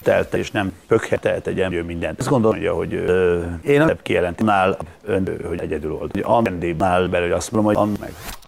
telt, és nem pökhetelt egy ember mindent. Azt gondolja, hogy én nem kijelentinál ön, hogy egyedül volt. Andrébnál belül azt mondom, hogy meg.